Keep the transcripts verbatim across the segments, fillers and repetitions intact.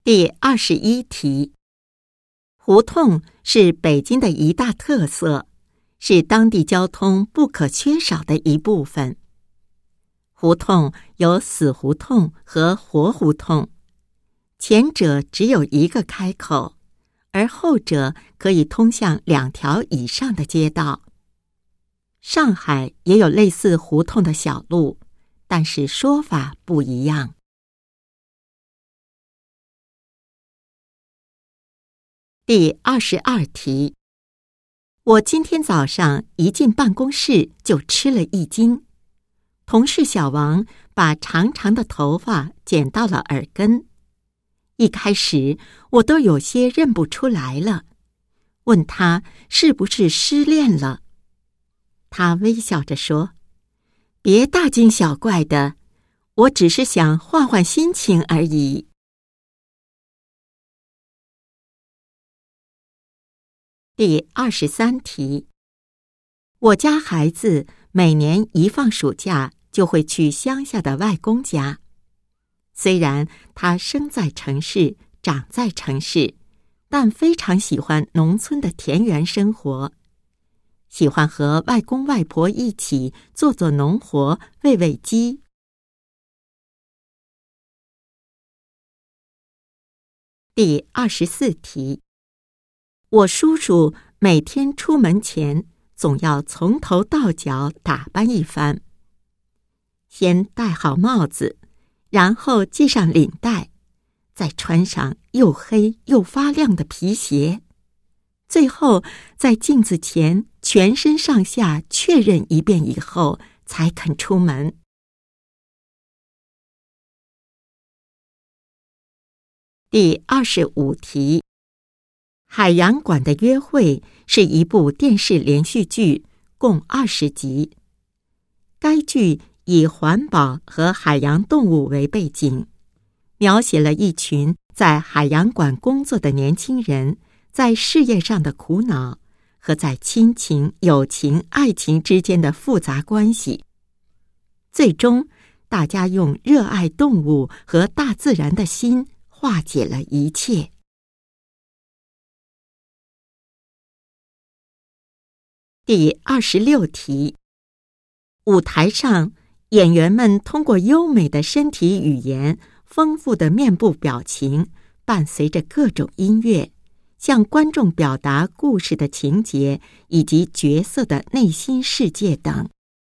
第二十一题，胡同是北京的一大特色，是当地交通不可缺少的一部分。胡同有死胡同和活胡同，前者只有一个开口，而后者可以通向两条以上的街道。上海也有类似胡同的小路，但是说法不一样。第二十二题，我今天早上一进办公室就吃了一惊。同事小王把长长的头发剪到了耳根，一开始我都有些认不出来了，问他是不是失恋了。他微笑着说：“别大惊小怪的，我只是想换换心情而已。”第二十三题，我家孩子每年一放暑假就会去乡下的外公家。虽然他生在城市，长在城市，但非常喜欢农村的田园生活，喜欢和外公外婆一起做做农活，喂喂鸡。第二十四题，我叔叔每天出门前总要从头到脚打扮一番，先戴好帽子，然后系上领带，再穿上又黑又发亮的皮鞋，最后在镜子前全身上下确认一遍以后才肯出门。第二十五题，海洋馆的约会是一部电视连续剧，共二十集。该剧以环保和海洋动物为背景，描写了一群在海洋馆工作的年轻人在事业上的苦恼和在亲情、友情、爱情之间的复杂关系。最终，大家用热爱动物和大自然的心化解了一切。第二十六题，舞台上演员们通过优美的身体语言、丰富的面部表情，伴随着各种音乐，向观众表达故事的情节以及角色的内心世界等。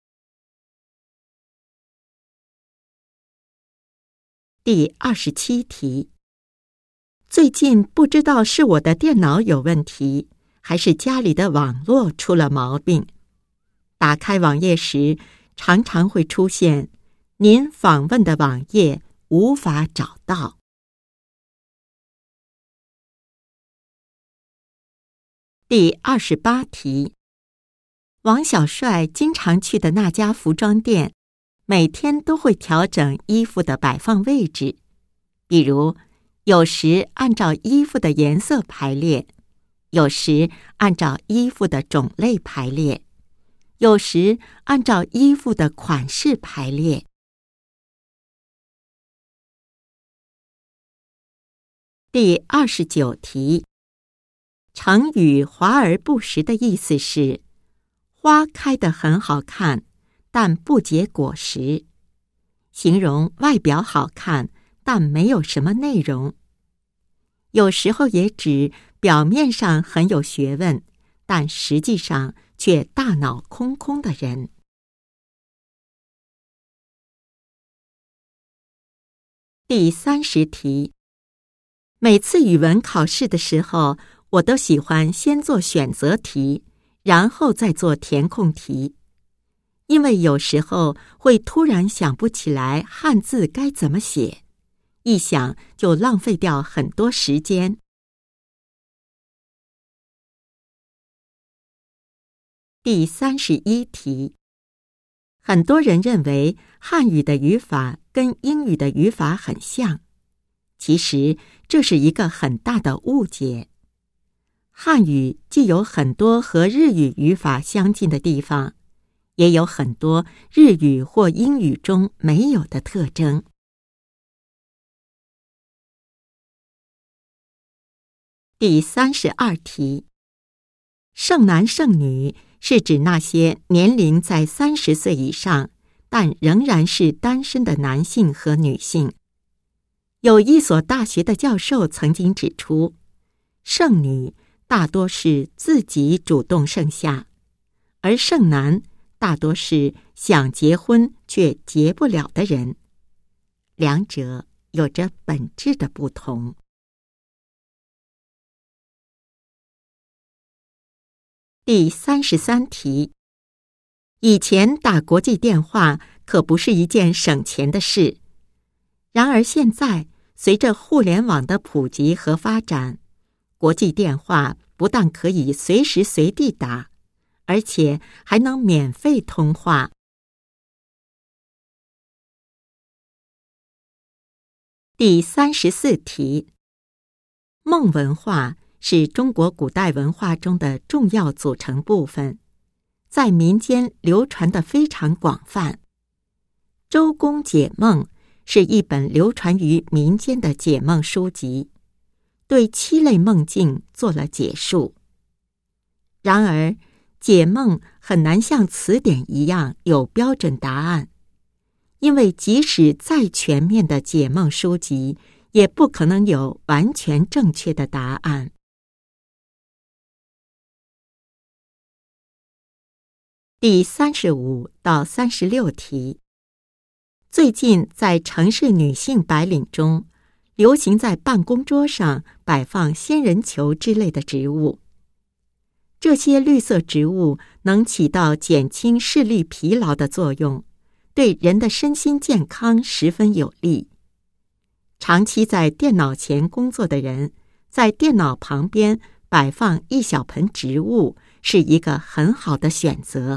第二十七题，最近不知道是我的电脑有问题，还是家里的网络出了毛病。打开网页时，常常会出现您访问的网页无法找到。第二十八题，王小帅经常去的那家服装店，每天都会调整衣服的摆放位置，比如有时按照衣服的颜色排列，有时按照衣服的种类排列，有时按照衣服的款式排列。第二十九题，成语华而不实的意思是花开得很好看，但不结果实，形容外表好看，但没有什么内容。有时候也指表面上很有学问，但实际上却大脑空空的人。第三十题，每次语文考试的时候，我都喜欢先做选择题，然后再做填空题，因为有时候会突然想不起来汉字该怎么写，一想就浪费掉很多时间。第三十一题，很多人认为汉语的语法跟英语的语法很像，其实这是一个很大的误解。汉语既有很多和日语语法相近的地方，也有很多日语或英语中没有的特征。 第三十二题，剩男剩女是指那些年龄在三十岁以上，但仍然是单身的男性和女性。有一所大学的教授曾经指出，剩女大多是自己主动剩下，而剩男大多是想结婚却结不了的人，两者有着本质的不同。第三十三题，以前打国际电话可不是一件省钱的事，然而现在随着互联网的普及和发展，国际电话不但可以随时随地打，而且还能免费通话。第三十四题，孟文化是中国古代文化中的重要组成部分，在民间流传得非常广泛。周公解梦是一本流传于民间的解梦书籍，对七类梦境做了解述。然而，解梦很难像词典一样有标准答案，因为即使再全面的解梦书籍，也不可能有完全正确的答案。第三十五到三十六题，最近在城市女性白领中，流行在办公桌上摆放仙人球之类的植物。这些绿色植物能起到减轻视力疲劳的作用，对人的身心健康十分有利。长期在电脑前工作的人，在电脑旁边摆放一小盆植物是一个很好的选择。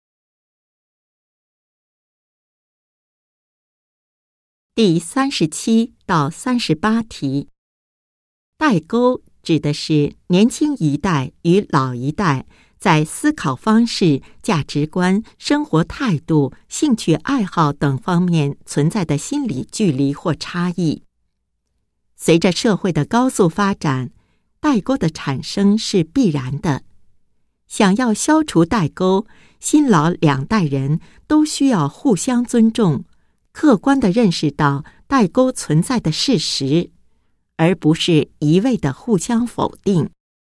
第三十七到三十八题，代沟指的是年轻一代与老一代在思考方式、价值观、生活态度、兴趣爱好等方面存在的心理距离或差异。随着社会的高速发展，代沟的产生是必然的。想要消除代沟，新老两代人都需要互相尊重，客观地认识到代沟存在的事实，而不是一味地互相否定。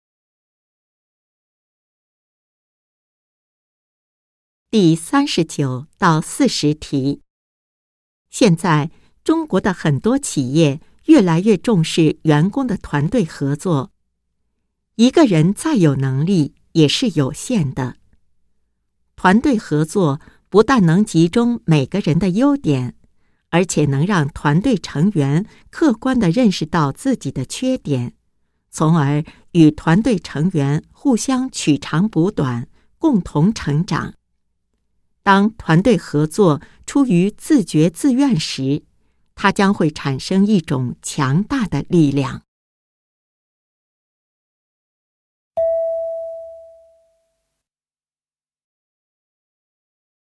第三十九到四十题，现在中国的很多企业越来越重视员工的团队合作，一个人再有能力也是有限的。团队合作不但能集中每个人的优点，而且能让团队成员客观地认识到自己的缺点，从而与团队成员互相取长补短，共同成长。当团队合作出于自觉自愿时，它将会产生一种强大的力量。